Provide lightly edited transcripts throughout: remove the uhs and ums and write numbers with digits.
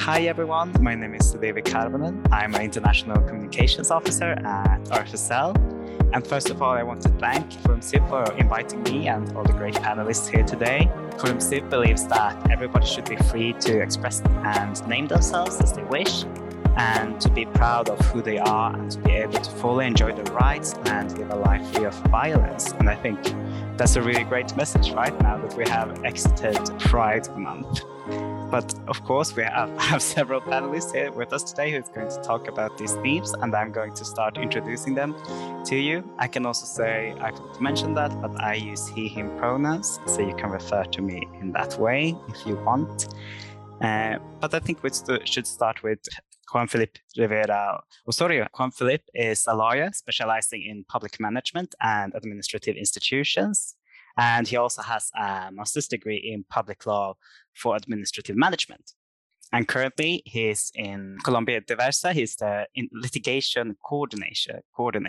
Hi everyone, my name is David Karvonen. I'm an International Communications Officer at RFSL. And first of all, I want to thank Forum SIP for inviting me and all the great panelists here today. Forum SIP believes that everybody should be free to express and name themselves as they wish, and to be proud of who they are and to be able to fully enjoy their rights and live a life free of violence. And I think that's a really great message right now that we have exited Pride Month. But of course, we have several panelists here with us today who's going to talk about these themes, and I'm going to start introducing them to you. I can also say, I forgot to mention that, but I use he, him pronouns, so you can refer to me in that way if you want. But I think we should start with Juan Felipe Rivera Osorio. Juan Felipe is a lawyer specializing in public management and administrative institutions. And he also has a master's degree in public law for administrative management. And currently he's in Colombia Diversa. He's the litigation coordinator.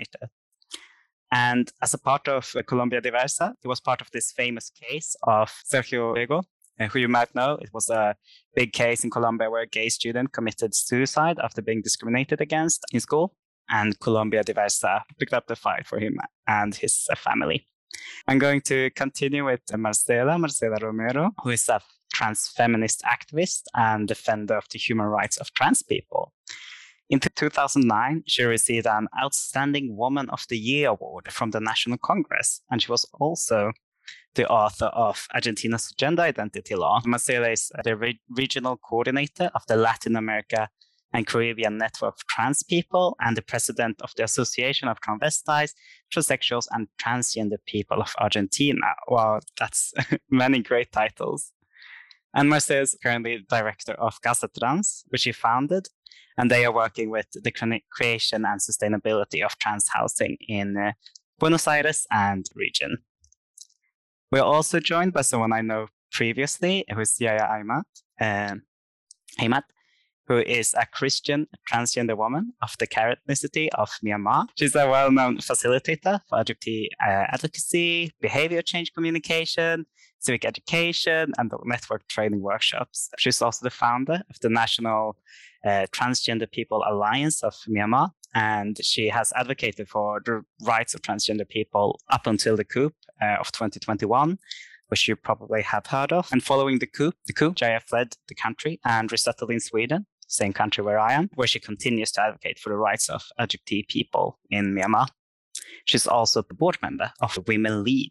And as a part of Colombia Diversa, he was part of this famous case of Sergio Rego, who you might know. It was a big case in Colombia where a gay student committed suicide after being discriminated against in school. And Colombia Diversa picked up the fight for him and his family. I'm going to continue with Marcela Romero, who is a trans feminist activist and defender of the human rights of trans people. In 2009, she received an Outstanding Woman of the Year award from the National Congress, and she was also the author of Argentina's Gender Identity Law. Marcela is the regional coordinator of the Latin America and Caribbean Network of Trans People, and the president of the Association of Transvestites, Transsexuals, and Transgender People of Argentina. Wow, that's many great titles. And Marcela is currently director of Casa Trans, which she founded, and they are working with the creation and sustainability of trans housing in Buenos Aires and region. We're also joined by someone I know previously, who is Yaya Aymat, who is a Christian transgender woman of the Karen ethnicity of Myanmar. She's a well-known facilitator for LGBT advocacy, behavior change communication, civic education, and network training workshops. She's also the founder of the National Transgender People Alliance of Myanmar, and she has advocated for the rights of transgender people up until the coup of 2021, which you probably have heard of. And following the coup, Jaya fled the country and resettled in Sweden, same country where I am, where she continues to advocate for the rights of LGBT people in Myanmar. She's also the board member of Women Lead.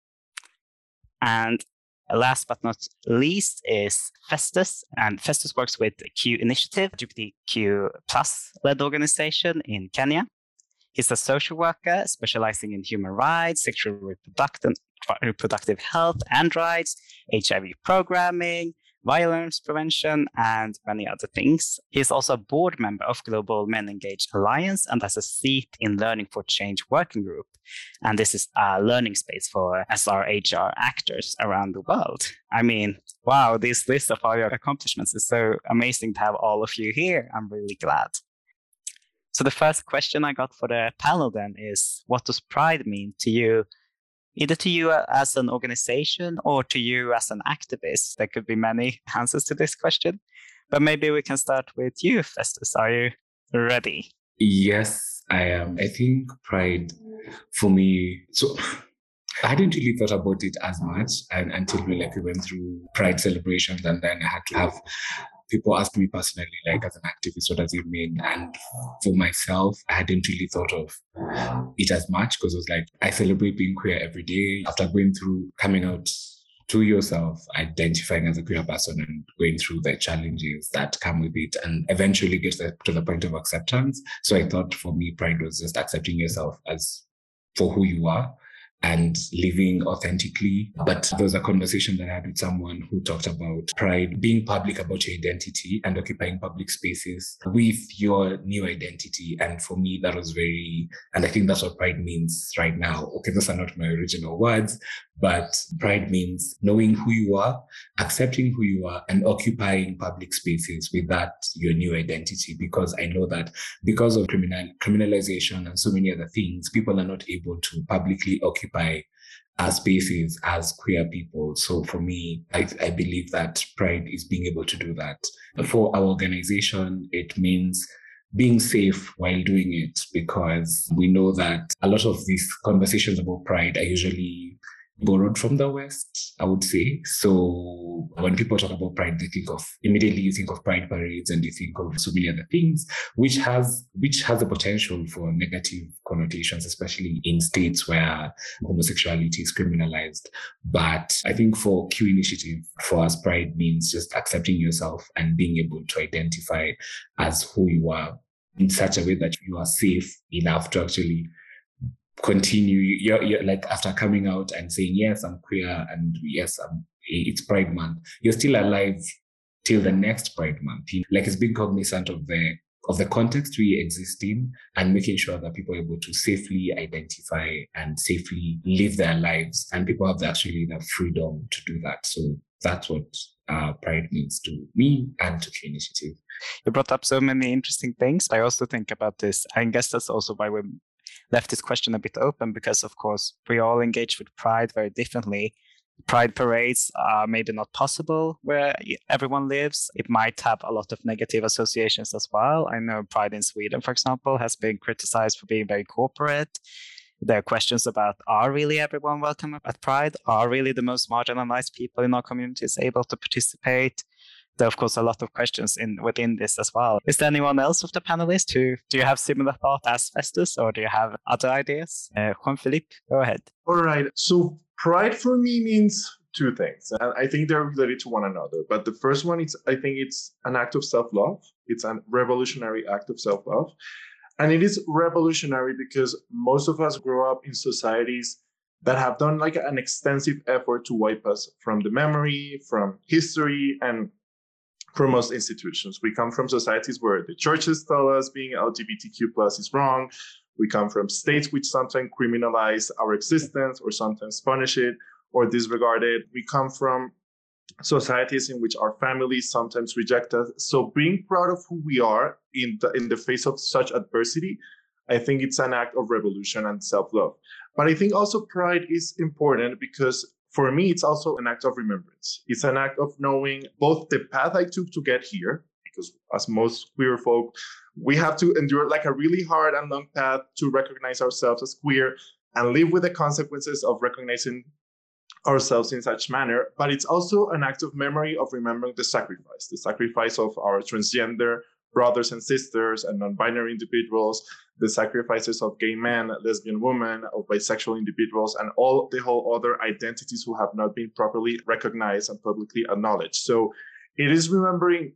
And last but not least is Festus. And Festus works with the Q Initiative, LGBTQ plus led organization in Kenya. He's a social worker specializing in human rights, sexual reproductive health and rights, HIV programming, violence prevention, and many other things. He's also a board member of Global Men Engaged Alliance and has a seat in Learning for Change Working Group. And this is a learning space for SRHR actors around the world. I mean, wow, this list of all your accomplishments is so amazing to have all of you here. I'm really glad. So the first question I got for the panel then is, what does Pride mean to you? Either to you as an organization or to you as an activist. There could be many answers to this question, but maybe we can start with you, Festus. Are you ready? Yes, I am. I think Pride for me, so I hadn't really thought about it as much until we went through Pride celebrations, and then I had to have people ask me personally, as an activist, what does it mean? And for myself, I hadn't really thought of it as much because it was I celebrate being queer every day. After going through coming out to yourself, identifying as a queer person and going through the challenges that come with it, and eventually get to the point of acceptance. So I thought for me, Pride was just accepting yourself as for who you are and living authentically. But there was a conversation that I had with someone who talked about Pride being public about your identity and occupying public spaces with your new identity. And for me, that was and I think that's what Pride means right now. Okay, those are not my original words, but Pride means knowing who you are, accepting who you are, and occupying public spaces with that, your new identity. Because I know that because of criminalization and so many other things, people are not able to publicly occupy our spaces as queer people. So for me, I believe that pride is being able to do that. For our organization, it means being safe while doing it, because we know that a lot of these conversations about pride are usually borrowed from the West, I would say. So when people talk about pride, they think of immediately you think of pride parades and you think of so many other things, which has the potential for negative connotations, especially in states where homosexuality is criminalized. But I think for Q Initiative, for us, pride means just accepting yourself and being able to identify as who you are in such a way that you are safe enough to actually continue. You're like, after coming out and saying, yes, I'm queer, and yes, it's Pride Month, you're still alive till the next Pride Month. Like, it's being cognizant of the context we exist in, and making sure that people are able to safely identify and safely live their lives, and people have actually the freedom to do that. So that's what pride means to me and to Q Initiative. You brought up so many interesting things. I also think about this. I guess that's also why we left this question a bit open, because of course we all engage with pride very differently. Pride parades are maybe not possible where everyone lives. It might have a lot of negative associations as well. I know Pride in Sweden, for example, has been criticized for being very corporate. There are questions about, are really everyone welcome at Pride? Are really the most marginalized people in our communities able to participate? There are, of course, a lot of questions within this as well. Is there anyone else of the panelists do you have similar thought as Festus, or do you have other ideas? Juan-Philippe, go ahead. All right. So pride for me means two things, and I think they're related to one another. But the first one is, I think it's an act of self-love. It's a revolutionary act of self-love. And it is revolutionary because most of us grow up in societies that have done like an extensive effort to wipe us from the memory, from history, and from most institutions. We come from societies where the churches tell us being LGBTQ plus is wrong. We come from states which sometimes criminalize our existence or sometimes punish it or disregard it. We come from societies in which our families sometimes reject us. So being proud of who we are in the face of such adversity, I think it's an act of revolution and self-love. But I think also pride is important because for me, it's also an act of remembrance. It's an act of knowing both the path I took to get here, because as most queer folk, we have to endure like a really hard and long path to recognize ourselves as queer and live with the consequences of recognizing ourselves in such manner. But it's also an act of memory of remembering the sacrifice of our transgender brothers and sisters and non-binary individuals, the sacrifices of gay men, lesbian women, of bisexual individuals, and all the whole other identities who have not been properly recognized and publicly acknowledged. So it is remembering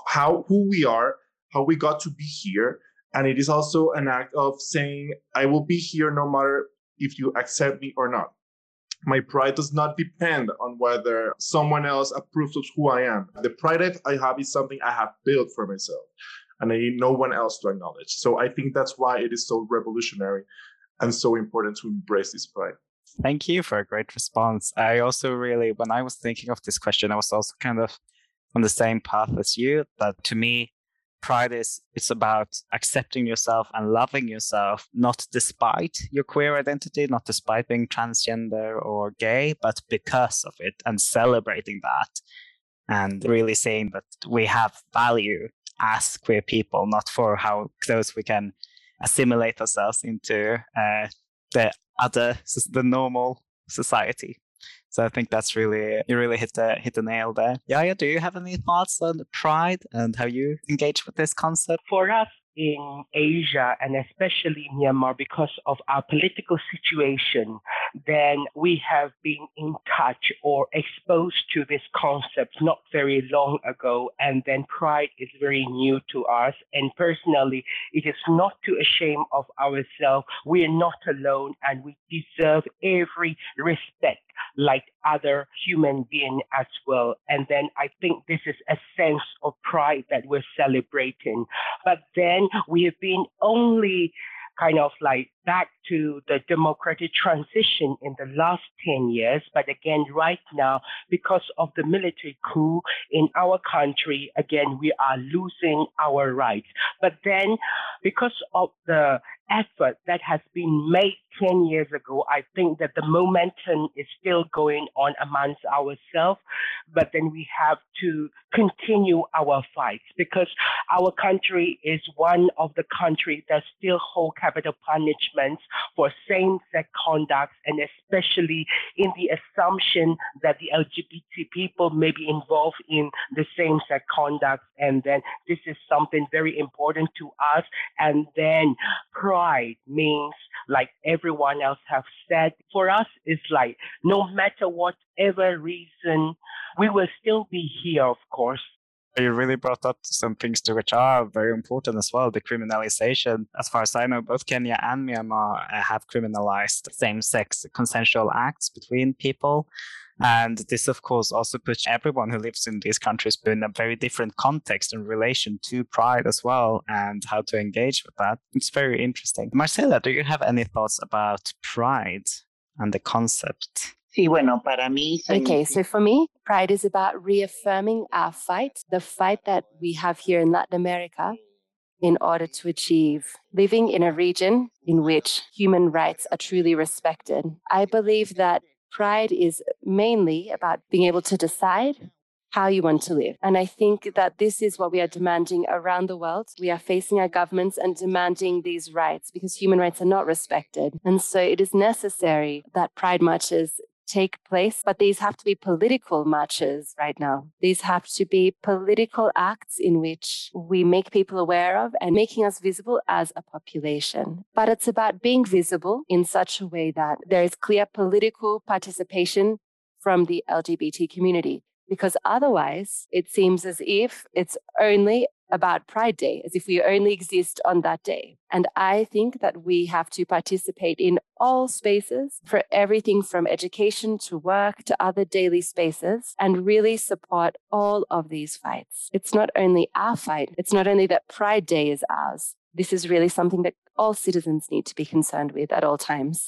who we are, how we got to be here. And it is also an act of saying, I will be here no matter if you accept me or not. My pride does not depend on whether someone else approves of who I am. The pride I have is something I have built for myself, and I need no one else to acknowledge. So I think that's why it is so revolutionary and so important to embrace this pride. Thank you for a great response. I also really, when I was thinking of this question, I was also kind of on the same path as you, that to me, pride it's about accepting yourself and loving yourself, not despite your queer identity, not despite being transgender or gay, but because of it, and celebrating that and really saying that we have value as queer people, not for how close we can assimilate ourselves into the normal society. So I think that's really, you really hit the nail there. Yaya, do you have any thoughts on pride and how you engage with this concept? For us in Asia, and especially Myanmar, because of our political situation, then we have been in touch or exposed to this concept not very long ago. And then pride is very new to us. And personally, it is not to shame of ourselves. We are not alone, and we deserve every respect like other human beings as well. And then I think this is a sense of pride that we're celebrating. But then we have been only kind of like back to the democratic transition in the last 10 years. But again, right now, because of the military coup in our country, again, we are losing our rights. But then, because of the effort that has been made 10 years ago, I think that the momentum is still going on amongst ourselves. But then we have to continue our fights because our country is one of the countries that still hold capital punishments for same-sex conduct, and especially in the assumption that the LGBT people may be involved in the same-sex conduct. And then this is something very important to us. And then pride means, like everyone else have said, for us it's like no matter whatever reason, we will still be here, of course. You really brought up some things to which are very important as well. The criminalization, as far as I know, both Kenya and Myanmar have criminalized same-sex consensual acts between people. And this, of course, also puts everyone who lives in these countries in a very different context in relation to pride as well and how to engage with that. It's very interesting. Marcela, do you have any thoughts about pride and the concept? Sí, bueno, para mí. Okay, so for me, pride is about reaffirming our fight, the fight that we have here in Latin America, in order to achieve living in a region in which human rights are truly respected. I believe that pride is mainly about being able to decide how you want to live. And I think that this is what we are demanding around the world. We are facing our governments and demanding these rights because human rights are not respected. And so it is necessary that pride marches take place, but these have to be political marches right now. These have to be political acts in which we make people aware of and making us visible as a population. But it's about being visible in such a way that there is clear political participation from the LGBT community, because otherwise it seems as if it's only about Pride Day, as if we only exist on that day. And I think that we have to participate in all spaces, for everything from education to work to other daily spaces, and really support all of these fights. It's not only our fight. It's not only that Pride Day is ours. This is really something that all citizens need to be concerned with at all times.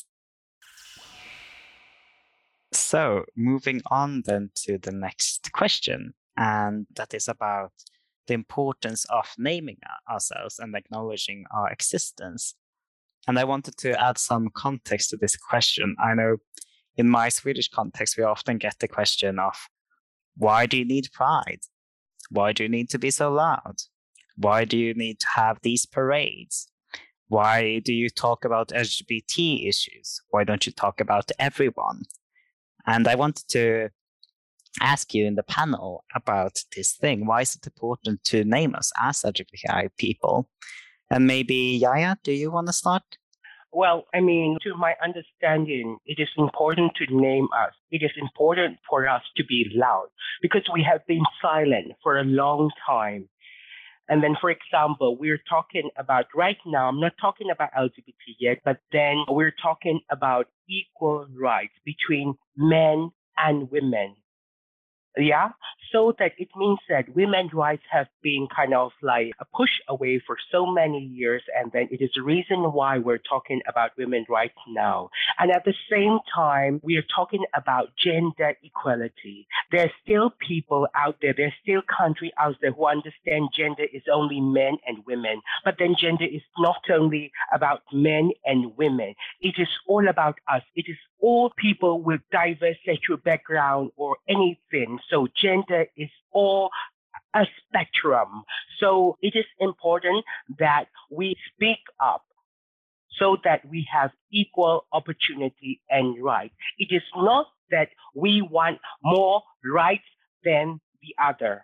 So moving on then to the next question, and that is about the importance of naming ourselves and acknowledging our existence. And I wanted to add some context to this question. I know in my Swedish context, we often get the question of, why do you need pride? Why do you need to be so loud? Why do you need to have these parades? Why do you talk about LGBT issues? Why don't you talk about everyone? And I wanted to ask you in the panel about this thing. Why is it important to name us as LGBTI people? And maybe Yaya, do you want to start? Well, I mean, to my understanding, it is important to name us. It is important for us to be loud because we have been silent for a long time. And then, for example, we're talking about right now, I'm not talking about LGBT yet, but then we're talking about equal rights between men and women. Yeah, so that it means that women's rights have been kind of like a push away for so many years, and then it is the reason why we're talking about women's rights now. And at the same time, we are talking about gender equality. There's still people out there, there's still countries out there who understand gender is only men and women, but then gender is not only about men and women. It is all about us. It is all people with diverse sexual background or anything. So gender is all a spectrum. So it is important that we speak up so that we have equal opportunity and rights. It is not that we want more rights than the other.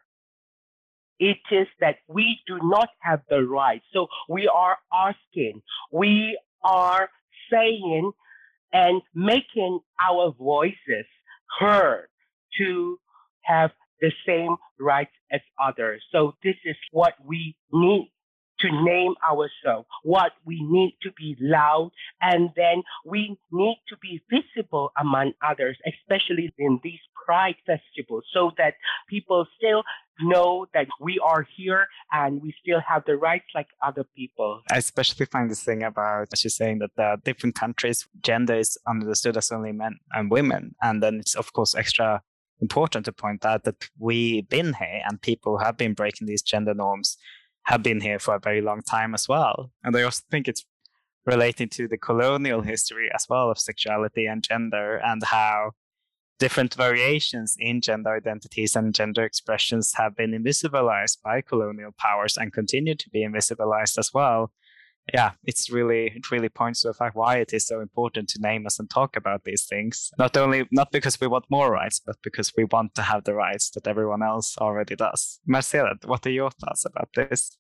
It is that we do not have the rights. So we are asking, we are saying and making our voices heard to have the same rights as others. So this is what we need to name ourselves, what we need to be loud, and then we need to be visible among others, especially in these Pride festivals, so that people still know that we are here and we still have the rights like other people. I especially find this thing about, as you're saying, that the different countries, gender is understood as only men and women. And then it's, of course, extra important to point out that we've been here and people who have been breaking these gender norms have been here for a very long time as well. And I also think it's relating to the colonial history as well of sexuality and gender, and how different variations in gender identities and gender expressions have been invisibilized by colonial powers and continue to be invisibilized as well. Yeah, it really points to the fact why it is so important to name us and talk about these things. Not because we want more rights, but because we want to have the rights that everyone else already does. Marcela, what are your thoughts about this?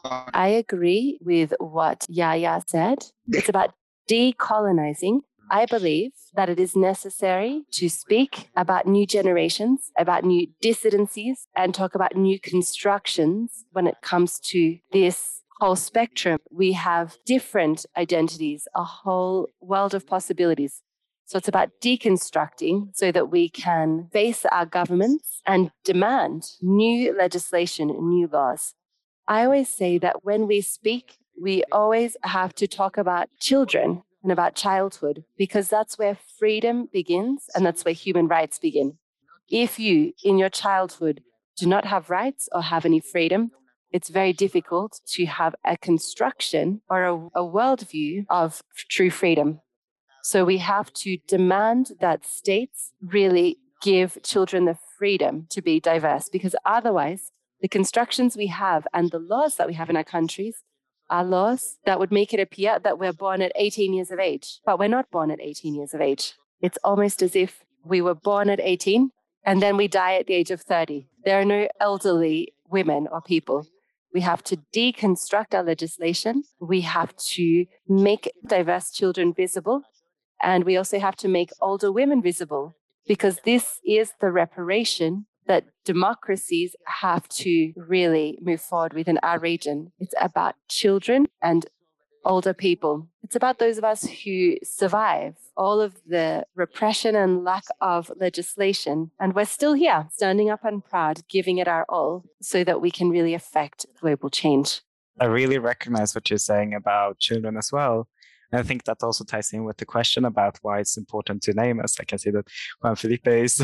I agree with what Yaya said. It's about decolonizing. I believe that it is necessary to speak about new generations, about new dissidencies, and talk about new constructions when it comes to this whole spectrum. We have different identities, a whole world of possibilities. So it's about deconstructing so that we can face our governments and demand new legislation and new laws. I always say that when we speak, we always have to talk about children and about childhood, because that's where freedom begins and that's where human rights begin. If you, in your childhood, do not have rights or have any freedom, it's very difficult to have a construction or a worldview of true freedom. So we have to demand that states really give children the freedom to be diverse, because otherwise the constructions we have and the laws that we have in our countries are laws that would make it appear that we're born at 18 years of age, but we're not born at 18 years of age. It's almost as if we were born at 18 and then we die at the age of 30. There are no elderly women or people. We have to deconstruct our legislation. We have to make diverse children visible. And we also have to make older women visible, because this is the reparation that democracies have to really move forward with in our region. It's about children and older people. It's about those of us who survive all of the repression and lack of legislation. And we're still here, standing up and proud, giving it our all so that we can really affect global change. I really recognize what you're saying about children as well. And I think that also ties in with the question about why it's important to name us. I can see that Juan Felipe is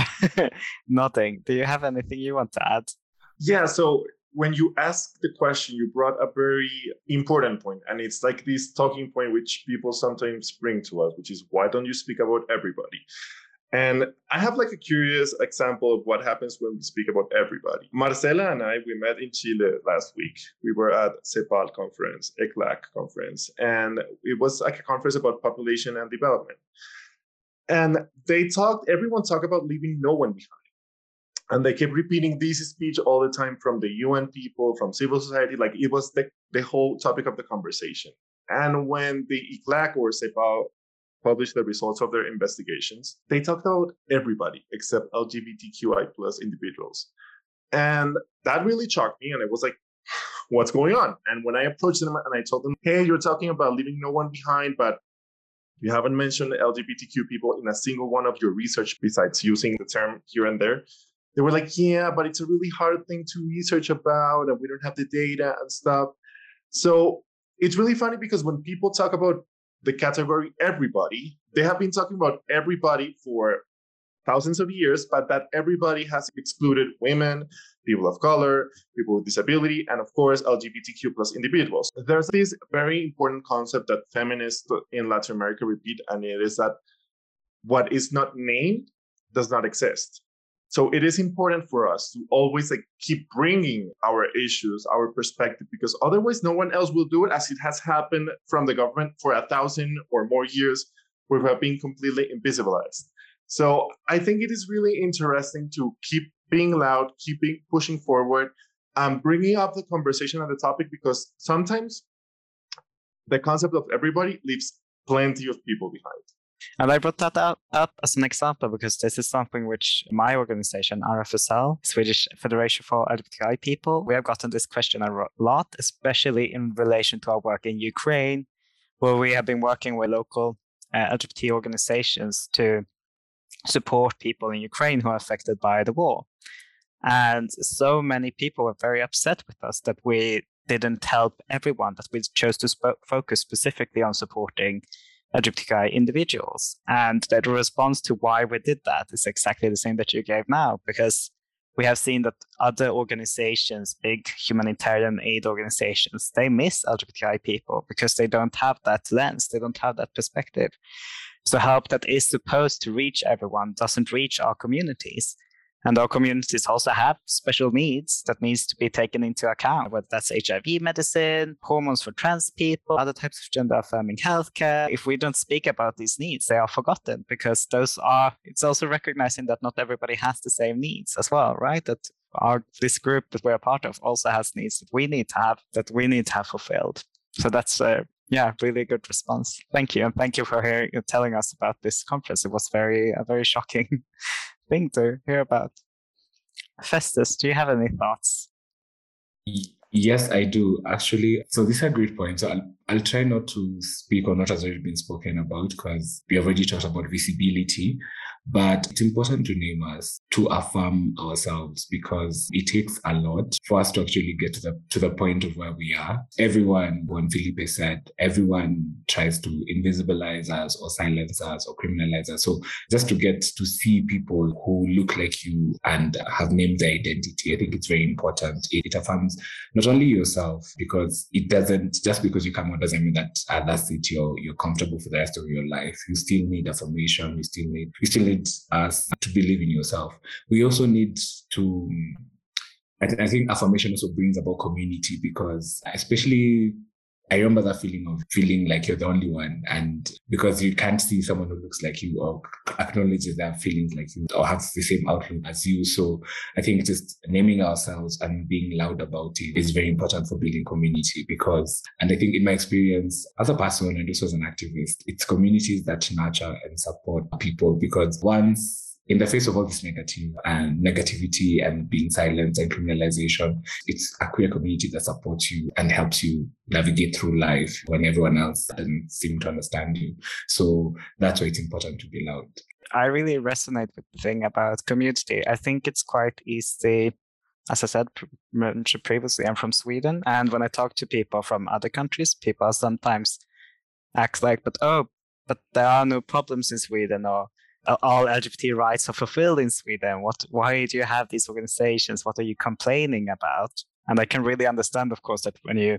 nodding. Do you have anything you want to add? Yeah, so when you ask the question, you brought a very important point, and it's like this talking point which people sometimes bring to us, which is, why don't you speak about everybody? And I have like a curious example of what happens when we speak about everybody. Marcela and I, we met in Chile last week. We were at CEPAL conference, ECLAC conference, and it was like a conference about population and development. And everyone talked about leaving no one behind. And they kept repeating this speech all the time from the UN people, from civil society, like it was the whole topic of the conversation. And when the ECLAC or CEPAL published the results of their investigations, they talked about everybody except LGBTQI plus individuals. And that really shocked me. And it was like, what's going on? And when I approached them and I told them, hey, you're talking about leaving no one behind, but you haven't mentioned LGBTQ people in a single one of your research besides using the term here and there. They were like, yeah, but it's a really hard thing to research about and we don't have the data and stuff. So it's really funny because when people talk about the category everybody, they have been talking about everybody for thousands of years, but that everybody has excluded women, people of color, people with disability, and of course, LGBTQ plus individuals. There's this very important concept that feminists in Latin America repeat, and it is that what is not named does not exist. So it is important for us to always keep bringing our issues, our perspective, because otherwise no one else will do it, as it has happened from the government for 1,000 or more years, where we have been completely invisibilized. So I think it is really interesting to keep being loud, keeping pushing forward, bringing up the conversation on the topic, because sometimes the concept of everybody leaves plenty of people behind. And I brought that up as an example because this is something which my organization, RFSL, Swedish Federation for LGBTI People, we have gotten this question a lot, especially in relation to our work in Ukraine, where we have been working with local LGBT organizations to support people in Ukraine who are affected by the war. And so many people were very upset with us that we didn't help everyone, that we chose to focus specifically on supporting LGBTQI individuals. And the response to why we did that is exactly the same that you gave now, because we have seen that other organizations, big humanitarian aid organizations, they miss LGBTI people because they don't have that lens, they don't have that perspective. So help that is supposed to reach everyone doesn't reach our communities. And our communities also have special needs that needs to be taken into account, whether that's HIV medicine, hormones for trans people, other types of gender affirming healthcare. If we don't speak about these needs, they are forgotten because it's also recognizing that not everybody has the same needs as well, right? That this group that we're a part of also has needs that we need to have fulfilled. So that's really good response. Thank you. And thank you for telling us about this conference. It was a very shocking thing to hear about. Festus, do you have any thoughts? Yes, I do, actually. So these are great points. So I'll try not to speak on what has already been spoken about because we have already talked about visibility. But it's important to name us, to affirm ourselves, because it takes a lot for us to actually get to the point of where we are. Everyone, when Felipe said, everyone tries to invisibilize us or silence us or criminalize us. So just to get to see people who look like you and have named their identity, I think it's very important. It affirms not only yourself, because it doesn't, just because you come out doesn't mean that that's it, you're comfortable for the rest of your life. You still need affirmation. You still need us to believe in yourself. We also need to, I think affirmation also brings about community, because especially I remember that feeling of feeling like you're the only one, and because you can't see someone who looks like you or acknowledges their feelings like you or has the same outlook as you. So I think just naming ourselves and being loud about it is very important for building community, and I think in my experience as a person and also as an activist, it's communities that nurture and support people, because once in the face of all this negativity and being silenced and criminalization, it's a queer community that supports you and helps you navigate through life when everyone else doesn't seem to understand you. So that's why it's important to be loud. I really resonate with the thing about community. I think it's quite easy. As I said, mentioned previously, I'm from Sweden. And when I talk to people from other countries, people sometimes act like, but there are no problems in Sweden, or all LGBT rights are fulfilled in Sweden. Why do you have these organizations? What are you complaining about? And I can really understand, of course, that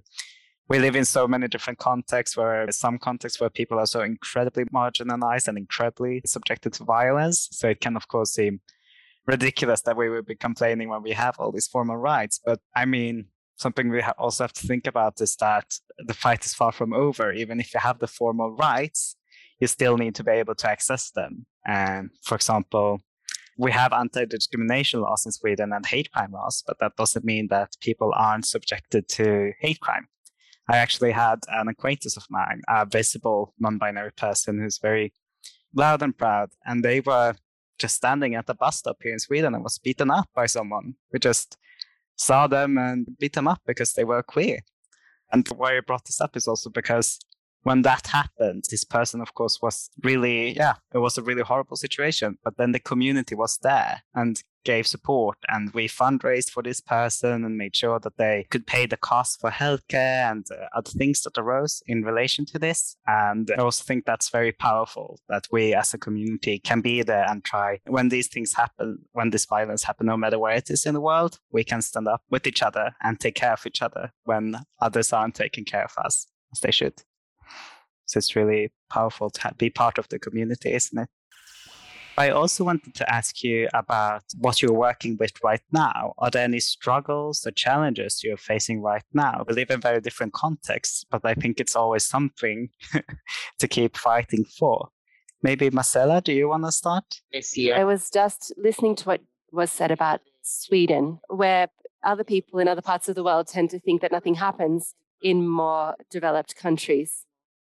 we live in so many different contexts, some contexts where people are so incredibly marginalized and incredibly subjected to violence. So it can, of course, seem ridiculous that we would be complaining when we have all these formal rights. But I mean, something we also have to think about is that the fight is far from over. Even if you have the formal rights, you still need to be able to access them. And for example, we have anti-discrimination laws in Sweden and hate crime laws, but that doesn't mean that people aren't subjected to hate crime. I actually had an acquaintance of mine, a visible non-binary person who's very loud and proud, and they were just standing at the bus stop here in Sweden and was beaten up by someone. We just saw them and beat them up because they were queer. And why I brought this up is also because when that happened, this person, of course, was really, it was a really horrible situation. But then the community was there and gave support. And we fundraised for this person and made sure that they could pay the cost for healthcare and other things that arose in relation to this. And I also think that's very powerful, that we as a community can be there and try. When these things happen, when this violence happens, no matter where it is in the world, we can stand up with each other and take care of each other when others aren't taking care of us as they should. So it's really powerful to be part of the community, isn't it? I also wanted to ask you about what you're working with right now. Are there any struggles or challenges you're facing right now? We live in very different contexts, but I think it's always something to keep fighting for. Maybe Marcella, do you want to start? I was just listening to what was said about Sweden, where other people in other parts of the world tend to think that nothing happens in more developed countries.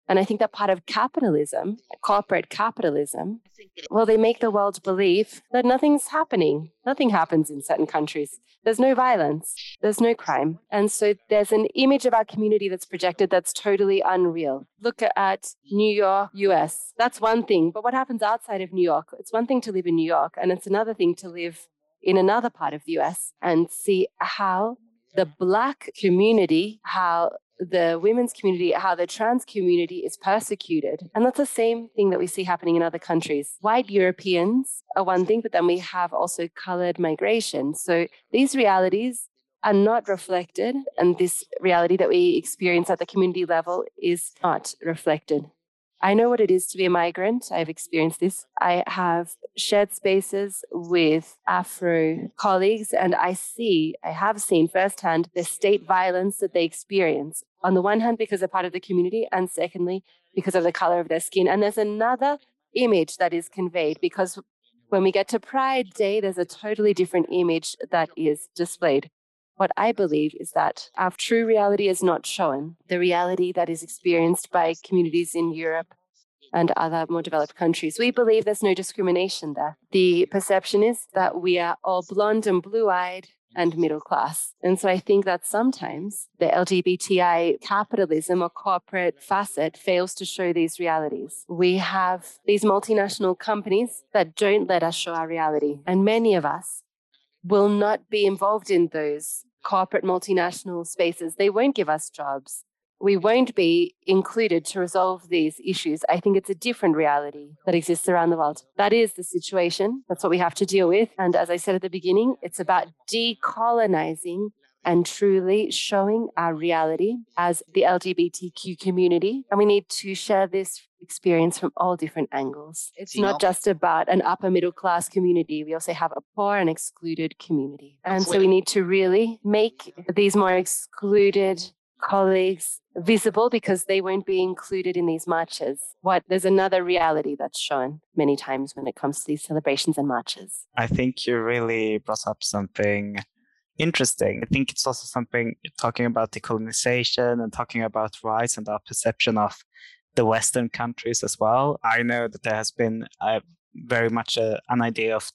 And I think that part of capitalism, corporate capitalism, well, they make the world believe that nothing's happening. Nothing happens in certain countries. There's no violence. There's no crime. And so there's an image of our community that's projected that's totally unreal. Look at New York, US. That's one thing. But what happens outside of New York? It's one thing to live in New York, and it's another thing to live in another part of the US and see how the Black community, how the women's community, how the trans community is persecuted. And that's the same thing that we see happening in other countries. White Europeans are one thing, but then we have also colored migration. So these realities are not reflected, and this reality that we experience at the community level is not reflected. I know what it is to be a migrant. I've experienced this. I have shared spaces with Afro colleagues, and I have seen firsthand the state violence that they experience. On the one hand, because they're part of the community, and secondly, because of the color of their skin. And there's another image that is conveyed, because when we get to Pride Day, there's a totally different image that is displayed. What I believe is that our true reality is not shown. The reality that is experienced by communities in Europe and other more developed countries. We believe there's no discrimination there. The perception is that we are all blonde and blue-eyed and middle class. And so I think that sometimes the LGBTI capitalism or corporate facet fails to show these realities. We have these multinational companies that don't let us show our reality. And many of us will not be involved in those corporate multinational spaces. They won't give us jobs. We won't be included to resolve these issues. I think it's a different reality that exists around the world. That is the situation. That's what we have to deal with. And as I said at the beginning, it's about decolonizing and truly showing our reality as the LGBTQ community. And we need to share this experience from all different angles. It's not just about an upper middle class community. We also have a poor and excluded community. And so we need to really make these more excluded colleagues visible, because they won't be included in these marches. There's another reality that's shown many times when it comes to these celebrations and marches. I think you really brought up something interesting. I think it's also something talking about decolonization and talking about rights and our perception of the Western countries as well. I know that there has been very much an idea of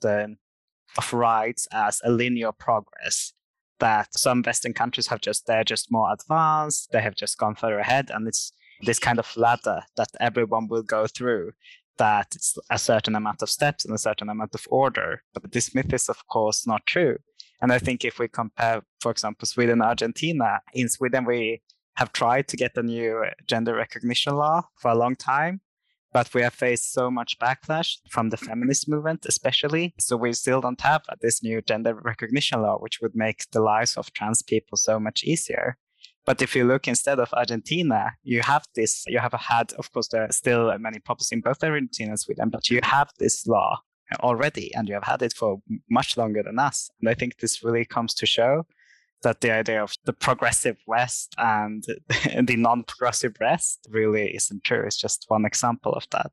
rights as a linear progress, that some Western countries they're just more advanced, they have just gone further ahead, and it's this kind of ladder that everyone will go through, that it's a certain amount of steps and a certain amount of order. But this myth is, of course, not true. And I think if we compare, for example, Sweden and Argentina, in Sweden, we have tried to get a new gender recognition law for a long time, but we have faced so much backlash from the feminist movement, especially. So we still don't have this new gender recognition law, which would make the lives of trans people so much easier. But if you look instead of Argentina, you have had, of course, there are still many problems in both Argentina and Sweden, but you have this law already, and you have had it for much longer than us. And I think this really comes to show that the idea of the progressive West and the non-progressive West really isn't true. It's just one example of that.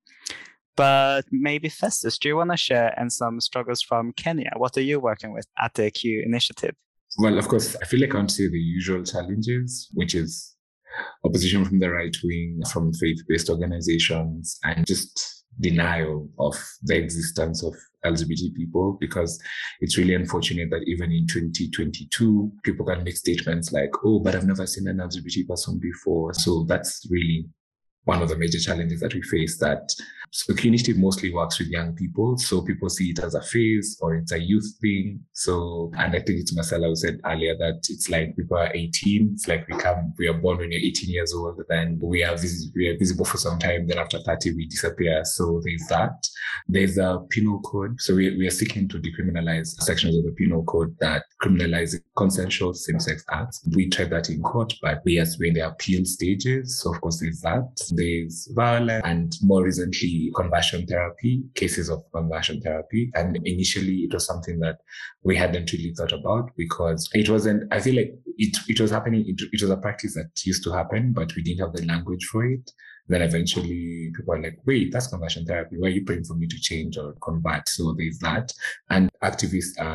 But maybe Festus, do you want to share some struggles from Kenya? What are you working with at the Q initiative? Well, of course, I feel like I want to say the usual challenges, which is opposition from the right wing, from faith-based organizations, and just denial of the existence of LGBT people, because it's really unfortunate that even in 2022, people can make statements like, oh, but I've never seen an LGBT person before. So that's really one of the major challenges that we face. So Q Initiative mostly works with young people. So people see it as a phase or it's a youth thing. So, and I think it's Marcella who said earlier that it's like people are 18. It's like we are born when you're 18 years old, then we are visible for some time. Then after 30, we disappear. So there's that. There's a penal code. So we are seeking to decriminalize sections of the penal code that criminalize consensual same-sex acts. We tried that in court, but we are in the appeal stages. So of course there's that. There's violence, and more recently conversion therapy, cases of conversion therapy. And initially it was something that we hadn't really thought about, because it wasn't, I feel like it was happening, it was a practice that used to happen, but we didn't have the language for it. Then eventually people are like, wait, that's conversion therapy. Why are you praying for me to change or convert? So there's that. And activists are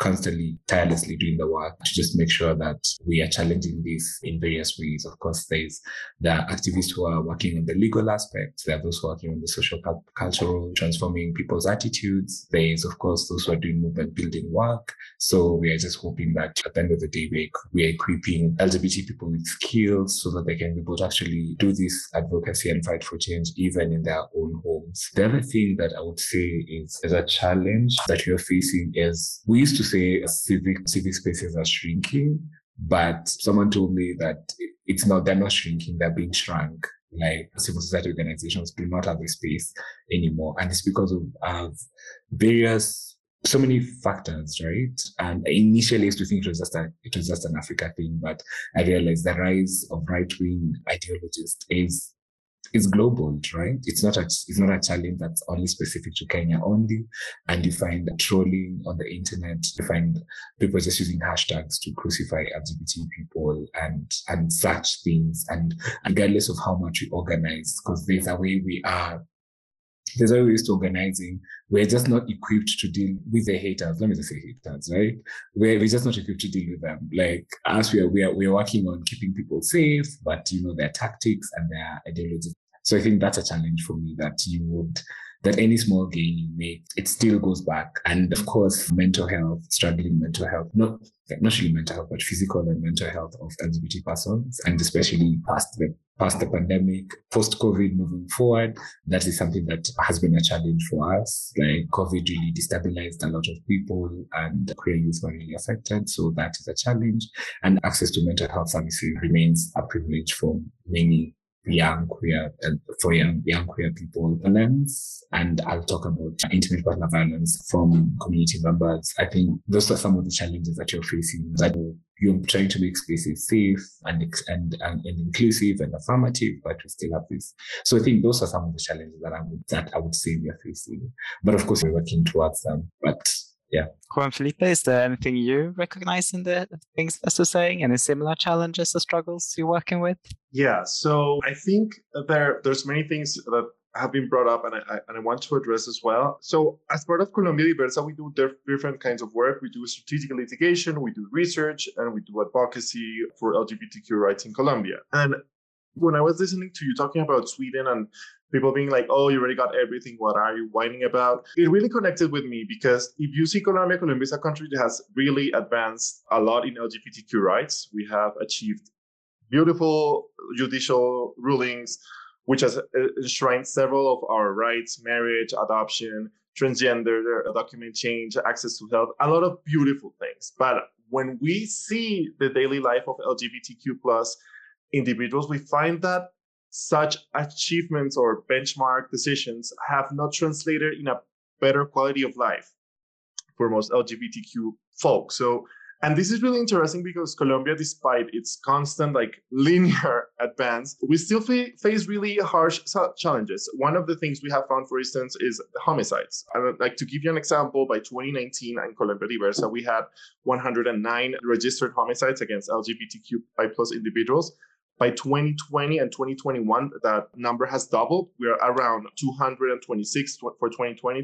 constantly, tirelessly doing the work to just make sure that we are challenging this in various ways. Of course, there are activists who are working on the legal aspects. There are those working on the social, cultural, transforming people's attitudes. There is, of course, those who are doing movement building work. So we are just hoping that at the end of the day, we are equipping LGBT people with skills so that they can be able to actually do this advocacy and fight for change even in their own homes. The other thing that I would say is a challenge that you're facing is, we used to say civic spaces are shrinking, but someone told me that it's not, they're not shrinking, they're being shrunk. Like civil society organizations do not have a space anymore. And it's because of so many factors, right? And initially I used to think it was just an Africa thing, but I realized the rise of right-wing ideologies is global, right? It's not a challenge that's only specific to Kenya only. And you find trolling on the internet, you find people just using hashtags to crucify LGBT people and such things. And regardless of how much we organize, because there's a way to organizing. We're just not equipped to deal with the haters. Let me just say haters, right? We're just not equipped to deal with them. Like us, we're working on keeping people safe, but their tactics and their ideologies. So I think that's a challenge for me, that any small gain you make, it still goes back. And of course, struggling mental health, not really mental health, but physical and mental health of LGBT persons, and especially past the pandemic, post-COVID moving forward, that is something that has been a challenge for us. Like COVID really destabilized a lot of people, and queer youth were really affected. So that is a challenge. And access to mental health services remains a privilege for many young queer people. And I'll talk about intimate partner violence from community members. I think those are some of the challenges that you're facing, that you're trying to make spaces safe and inclusive and affirmative, but we still have this. So I think those are some of the challenges that I would say we are facing. But of course, we're working towards them. But yeah. Juan Felipe, is there anything you recognize in the things Esther's saying? Any similar challenges or struggles you're working with? Yeah, so I think there's many things that have been brought up and I want to address as well. So as part of Colombia Diversa, we do different kinds of work. We do strategic litigation, we do research, and we do advocacy for LGBTQ rights in Colombia. And when I was listening to you talking about Sweden and people being like, oh, you already got everything, what are you whining about? It really connected with me, because if you see Colombia is a country that has really advanced a lot in LGBTQ rights. We have achieved beautiful judicial rulings, which has enshrined several of our rights: marriage, adoption, transgender, document change, access to health, a lot of beautiful things. But when we see the daily life of LGBTQ plus individuals, we find that such achievements or benchmark decisions have not translated in a better quality of life for most LGBTQ folks. And this is really interesting, because Colombia, despite its constant linear advance, we still face really harsh challenges. One of the things we have found, for instance, is homicides. I would like to give you an example. By 2019 in Colombia Diversa, we had 109 registered homicides against LGBTQI plus individuals. By 2020 and 2021, that number has doubled. We are around 226 for 2020,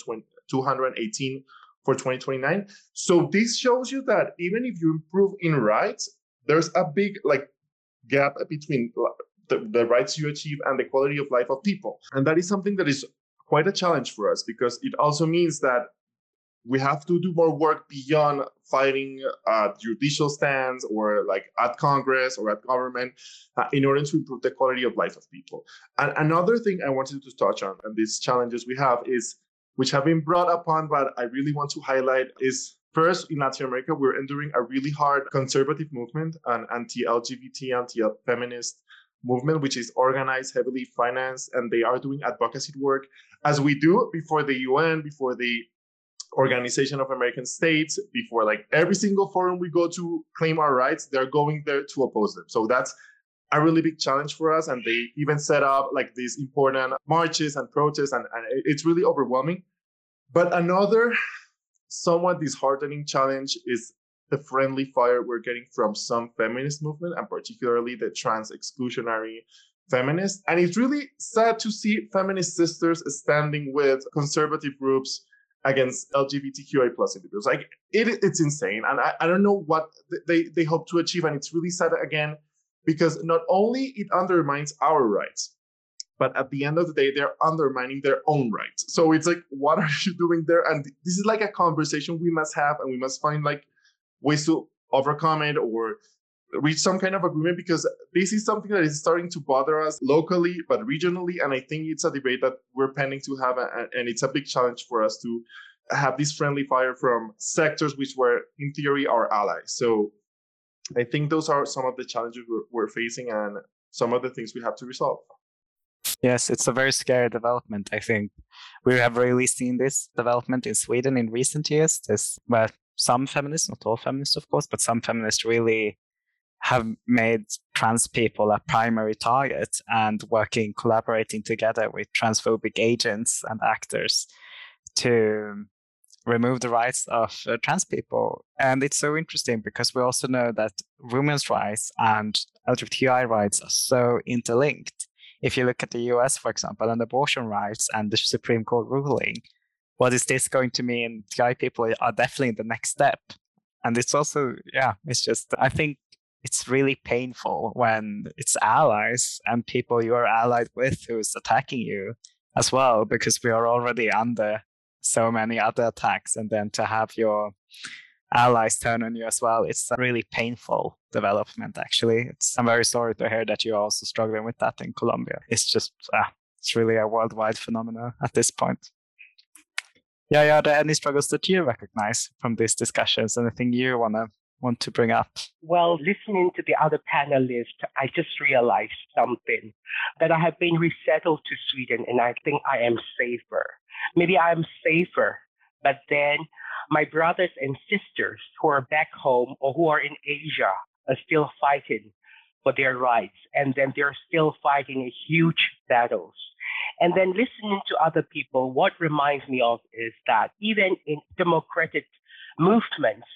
218 for 2029. So this shows you that even if you improve in rights, there's a big gap between the rights you achieve and the quality of life of people. And that is something that is quite a challenge for us, because it also means that we have to do more work beyond fighting judicial stands or at Congress or at government in order to improve the quality of life of people. And another thing I wanted to touch on, and these challenges we have which have been brought upon, but I really want to highlight, is first, in Latin America, we're enduring a really hard conservative movement, an anti-LGBT, anti-feminist movement, which is organized, heavily financed, and they are doing advocacy work, as we do before the UN, before the Organization of American States, before every single forum we go to claim our rights, they're going there to oppose them. So that's a really big challenge for us. And they even set up these important marches and protests, and it's really overwhelming. But another somewhat disheartening challenge is the friendly fire we're getting from some feminist movement, and particularly the trans exclusionary feminists. And it's really sad to see feminist sisters standing with conservative groups against LGBTQI plus individuals. Like it's insane. And I don't know what they hope to achieve. And it's really sad again, because not only it undermines our rights, but at the end of the day, they're undermining their own rights. So it's like, what are you doing there? And this is like a conversation we must have, and we must find like ways to overcome it or reach some kind of agreement, because this is something that is starting to bother us locally, but regionally. And I think it's a debate that we're pending to have, and it's a big challenge for us to have this friendly fire from sectors which were, in theory, our allies. So I think those are some of the challenges we're facing and some of the things we have to resolve. Yes, it's a very scary development. I think we have really seen this development in Sweden in recent years. Where some feminists, not all feminists, of course, but some feminists really have made trans people a primary target and collaborating together with transphobic agents and actors to remove the rights of trans people. And it's so interesting because we also know that women's rights and LGBTI rights are so interlinked. If you look at the US, for example, and abortion rights and the Supreme Court ruling, what is this going to mean? TI people are definitely the next step. And it's also, it's just, I think it's really painful when it's allies and people you are allied with who's attacking you as well, because we are already under so many other attacks. And then to have your allies turn on you as well, it's a really painful development, actually. I'm very sorry to hear that you're also struggling with that in Colombia. It's just, it's really a worldwide phenomenon at this point. Yeah, are there any struggles that you recognize from these discussions? Anything you want to bring up? Well, listening to the other panelists, I just realized something, that I have been resettled to Sweden and I think I am safer. Maybe I'm safer, but then my brothers and sisters who are back home or who are in Asia are still fighting for their rights. And then they're still fighting huge battles. And then listening to other people, what reminds me of is that even in democratic movements,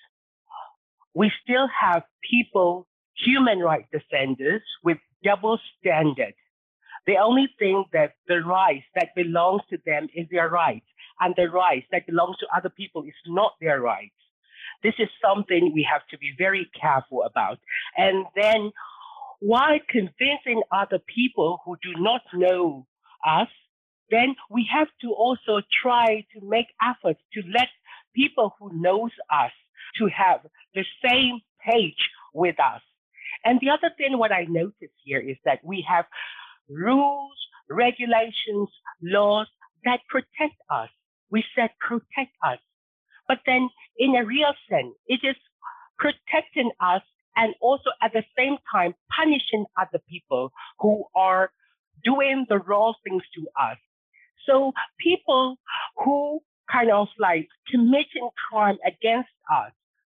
we still have people, human rights defenders, with double standard. They only think that the rights that belongs to them is their rights, and the rights that belongs to other people is not their rights. This is something we have to be very careful about. And then while convincing other people who do not know us, then we have to also try to make efforts to let people who knows us to have the same page with us. And the other thing, what I notice here is that we have rules, regulations, laws that protect us. We said protect us. But then in a real sense, it is protecting us and also at the same time punishing other people who are doing the wrong things to us. So people who kind of like committing crime against us,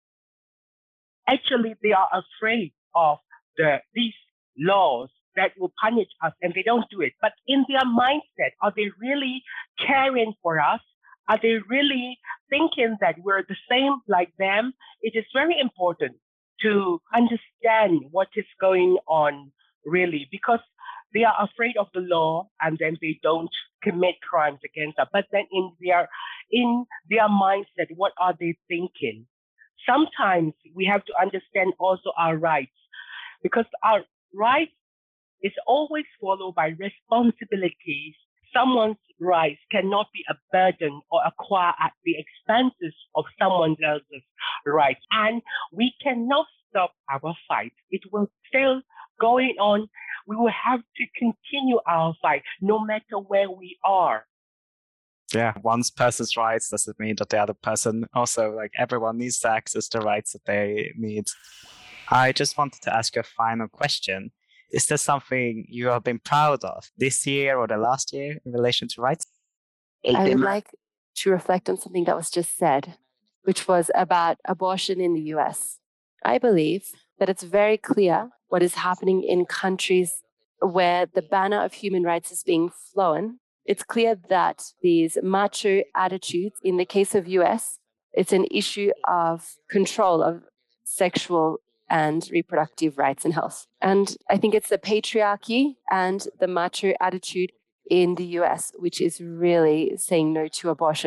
actually they are afraid of these laws that will punish us and they don't do it. But in their mindset, are they really caring for us? Are they really thinking that we're the same like them? It is very important to understand what is going on really, because they are afraid of the law and then they don't commit crimes against us. But then in their mindset, what are they thinking? Sometimes we have to understand also our rights, because our rights is always followed by responsibilities. Someone's rights cannot be a burden or acquired at the expenses of someone else's rights. And we cannot stop our fight. It will still going on. We will have to continue our fight no matter where we are. Yeah, one person's rights doesn't mean that the other person also, like, everyone needs to access the rights that they need. I just wanted to ask you a final question. Is there something you have been proud of this year or the last year in relation to rights? I would like to reflect on something that was just said, which was about abortion in the US. I believe that it's very clear what is happening in countries where the banner of human rights is being flown. It's clear that these macho attitudes, in the case of US, it's an issue of control of sexual and reproductive rights and health. And I think it's the patriarchy and the macho attitude in the US, which is really saying no to abortion.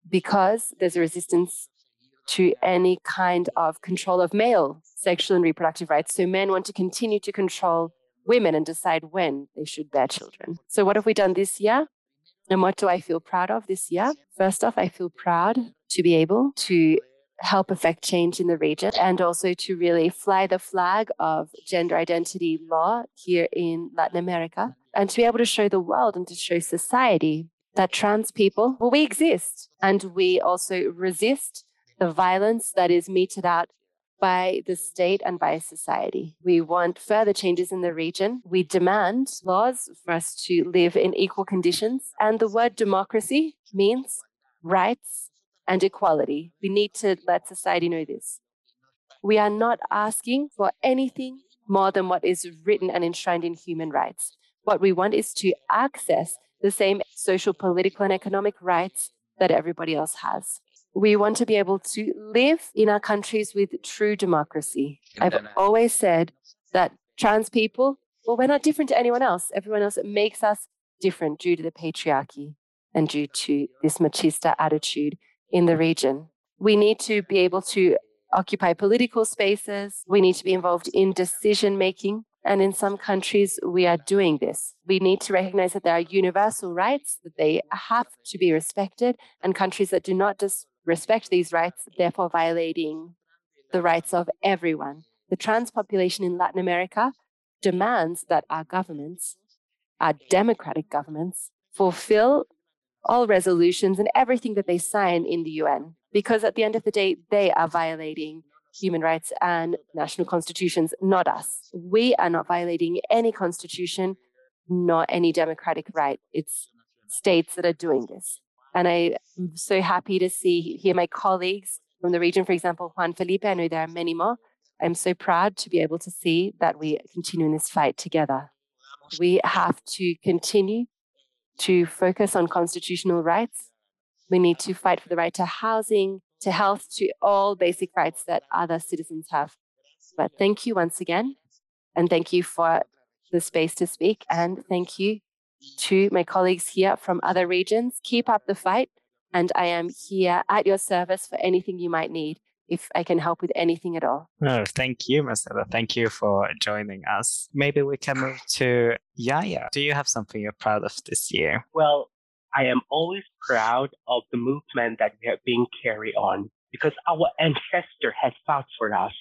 because there's a resistance to any kind of control of male sexual and reproductive rights. So men want to continue to control women and decide when they should bear children. So what have we done this year? And what do I feel proud of this year? First off, I feel proud to be able to help affect change in the region and also to really fly the flag of gender identity law here in Latin America and to be able to show the world and to show society that trans people, well, we exist and we also resist the violence that is meted out by the state and by society. We want further changes in the region. We demand laws for us to live in equal conditions. And the word democracy means rights and equality. We need to let society know this. We are not asking for anything more than what is written and enshrined in human rights. What we want is to access the same social, political, and economic rights that everybody else has. We want to be able to live in our countries with true democracy. I've always said that trans people, well, we're not different to anyone else. Everyone else makes us different due to the patriarchy and due to this machista attitude in the region. We need to be able to occupy political spaces. We need to be involved in decision making. And in some countries, we are doing this. We need to recognize that there are universal rights, that they have to be respected, and countries that do not respect these rights, therefore violating the rights of everyone. The trans population in Latin America demands that our governments, our democratic governments, fulfill all resolutions and everything that they sign in the UN, because at the end of the day, they are violating human rights and national constitutions, not us. We are not violating any constitution, nor any democratic right. It's states that are doing this. And I'm so happy to hear my colleagues from the region, for example, Juan Felipe, I know there are many more. I'm so proud to be able to see that we continue in this fight together. We have to continue to focus on constitutional rights. We need to fight for the right to housing, to health, to all basic rights that other citizens have. But thank you once again, and thank you for the space to speak, and thank you to my colleagues here from other regions. Keep up the fight, and I am here at your service for anything you might need, if I can help with anything at all. Oh, thank you, Marcela. Thank you for joining us. Maybe we can move to Yaya. Do you have something you're proud of this year? Well, I am always proud of the movement that we have been carried on because our ancestor has fought for us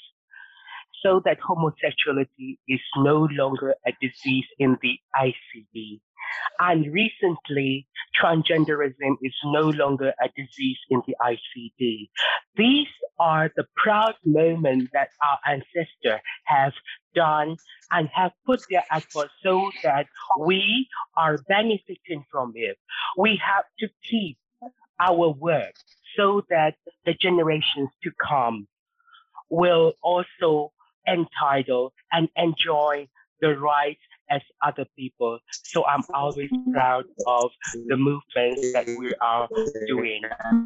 so that homosexuality is no longer a disease in the ICD. And recently, transgenderism is no longer a disease in the ICD. These are the proud moments that our ancestors have done and have put their effort so that we are benefiting from it. We have to keep our work so that the generations to come will also entitle and enjoy the rights as other people. So I'm always proud of the movements that we are doing.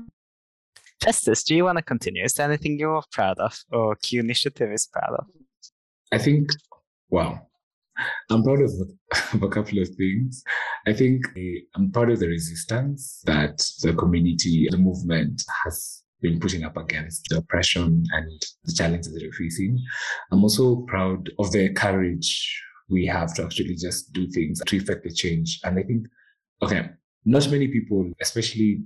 Justice, do you want to continue? Is there anything you're proud of or Q Initiative is proud of? I think, wow, I'm proud of a couple of things. I think I'm proud of the resistance that the community, the movement has been putting up against the oppression and the challenges that we're facing. I'm also proud of the courage we have to actually just do things to effect the change. And I think, okay, not many people, especially,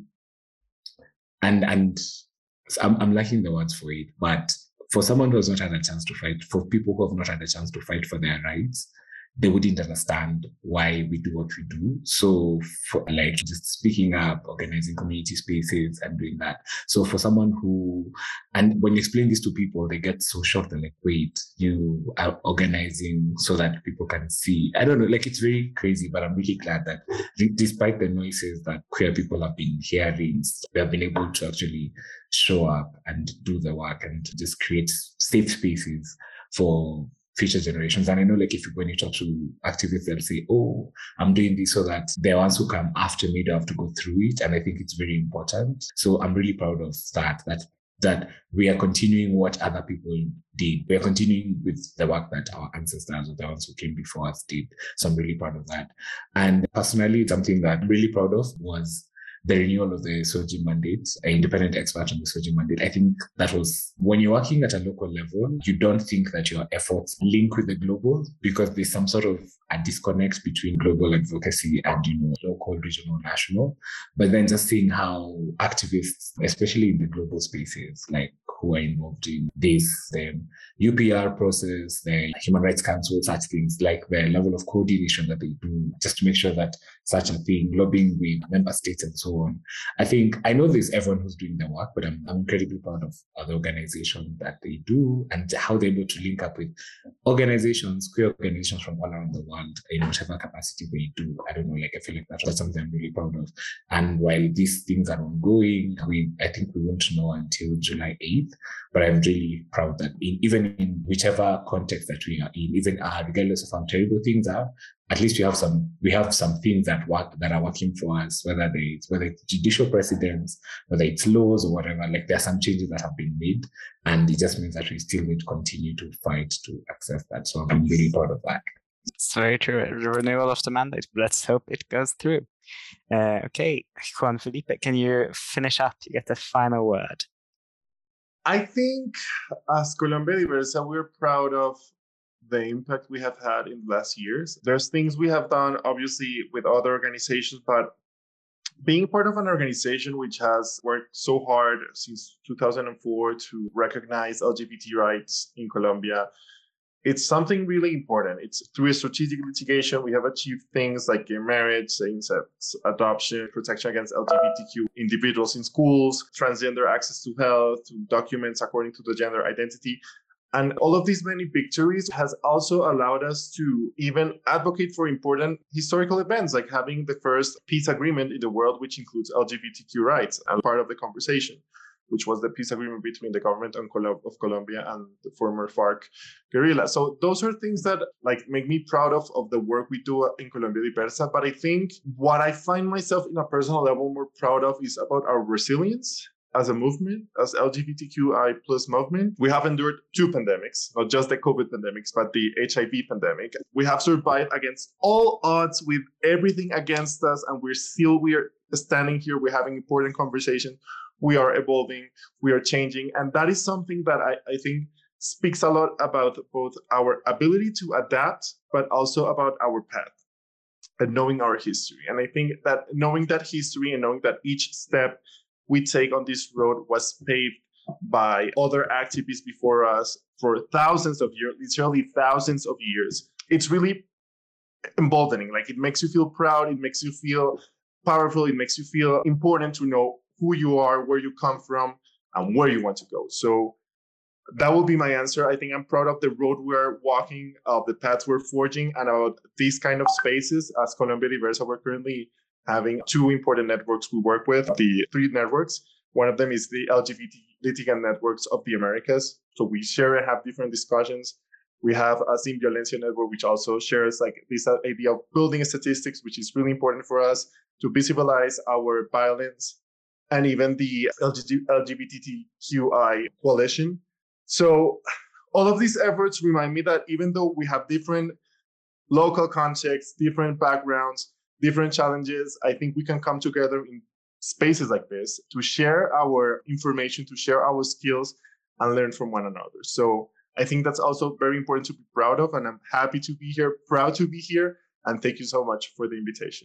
and I'm lacking the words for it, but for someone who has not had a chance to fight, for people who have not had a chance to fight for their rights, they wouldn't understand why we do what we do. So for like just speaking up, organizing community spaces and doing that. So for someone who, and when you explain this to people, they get so shocked and like, wait, you are organizing so that people can see. I don't know, like it's very crazy, but I'm really glad that despite the noises that queer people have been hearing, they have been able to actually show up and do the work and just create safe spaces for future generations. And I know like when you talk to activists, they'll say, oh, I'm doing this so that the ones who come after me don't have to go through it. And I think it's very important. So I'm really proud of that we are continuing what other people did. We are continuing with the work that our ancestors or the ones who came before us did. So I'm really proud of that. And personally, something that I'm really proud of was the renewal of the SOGI mandate, an independent expert on the SOGI mandate. I think that was, when you're working at a local level, you don't think that your efforts link with the global, because there's some sort of a disconnect between global advocacy and, local, regional, national. But then just seeing how activists, especially in the global spaces, like who are involved in this, the UPR process, the Human Rights Council, such things, like the level of coordination that they do just to make sure that such a thing, lobbying with member states and so on. I know there's everyone who's doing the work, but I'm incredibly proud of the organization that they do and how they're able to link up with organizations, queer organizations from all around the world in whatever capacity they do. I don't know, I feel like that's something I'm really proud of. And while these things are ongoing, I think we won't know until July 8th. But I'm really proud that even in whichever context that we are in, even regardless of how terrible things are, at least we have some things that are working for us, whether it's judicial precedents, whether it's laws or whatever. There are some changes that have been made, and it just means that we still need to continue to fight to access that. So I'm really proud of that. It's very true. The renewal of the mandate. Let's hope it goes through. Okay, Juan Felipe, can you finish up? You get the final word. I think as Colombia Diversa, we're proud of the impact we have had in the last years. There's things we have done, obviously, with other organizations, but being part of an organization which has worked so hard since 2004 to recognize LGBT rights in Colombia, it's something really important. It's through a strategic litigation, we have achieved things like gay marriage, same-sex adoption, protection against LGBTQ individuals in schools, transgender access to health, to documents according to the gender identity. And all of these many victories has also allowed us to even advocate for important historical events, like having the first peace agreement in the world, which includes LGBTQ rights and part of the conversation, which was the peace agreement between the government of Colombia and the former FARC guerrilla. So those are things that make me proud of the work we do in Colombia Diversa. But I think what I find myself in a personal level more proud of is about our resilience as a movement, as LGBTQI plus movement. We have endured two pandemics, not just the COVID pandemics, but the HIV pandemic. We have survived against all odds with everything against us, and we're standing here. We're having important conversations. We are evolving, we are changing. And that is something that I think speaks a lot about both our ability to adapt, but also about our path and knowing our history. And I think that knowing that history and knowing that each step we take on this road was paved by other activists before us for thousands of years, literally thousands of years, it's really emboldening. It makes you feel proud, it makes you feel powerful, it makes you feel important to know who you are, where you come from, and where you want to go. So that will be my answer. I think I'm proud of the road we're walking, of the paths we're forging, and about these kind of spaces. As Colombia Diversa, we're currently having two important networks we work with, the three networks. One of them is the LGBT litigant networks of the Americas. So we share and have different discussions. We have a Sin Violencia network, which also shares this idea of building statistics, which is really important for us to visibilize our violence, and even the LGBTQI coalition. So all of these efforts remind me that even though we have different local contexts, different backgrounds, different challenges, I think we can come together in spaces like this to share our information, to share our skills, and learn from one another. So I think that's also very important to be proud of, and I'm happy to be here, proud to be here, and thank you so much for the invitation.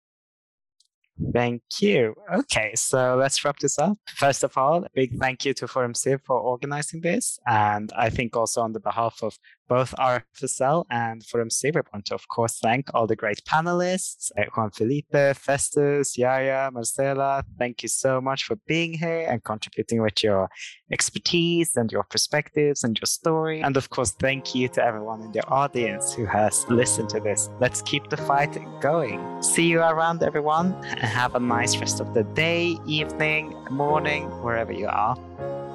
Thank you. Okay, so let's wrap this up. First of all, a big thank you to Forum Civ for organizing this. And I think also on the behalf of both RFSL and Forum Civ, I want to, of course, thank all the great panelists, Juan Felipe, Festus, Yaya, Marcela. Thank you so much for being here and contributing with your expertise and your perspectives and your story. And of course, thank you to everyone in the audience who has listened to this. Let's keep the fight going. See you around, everyone, and have a nice rest of the day, evening, morning, wherever you are.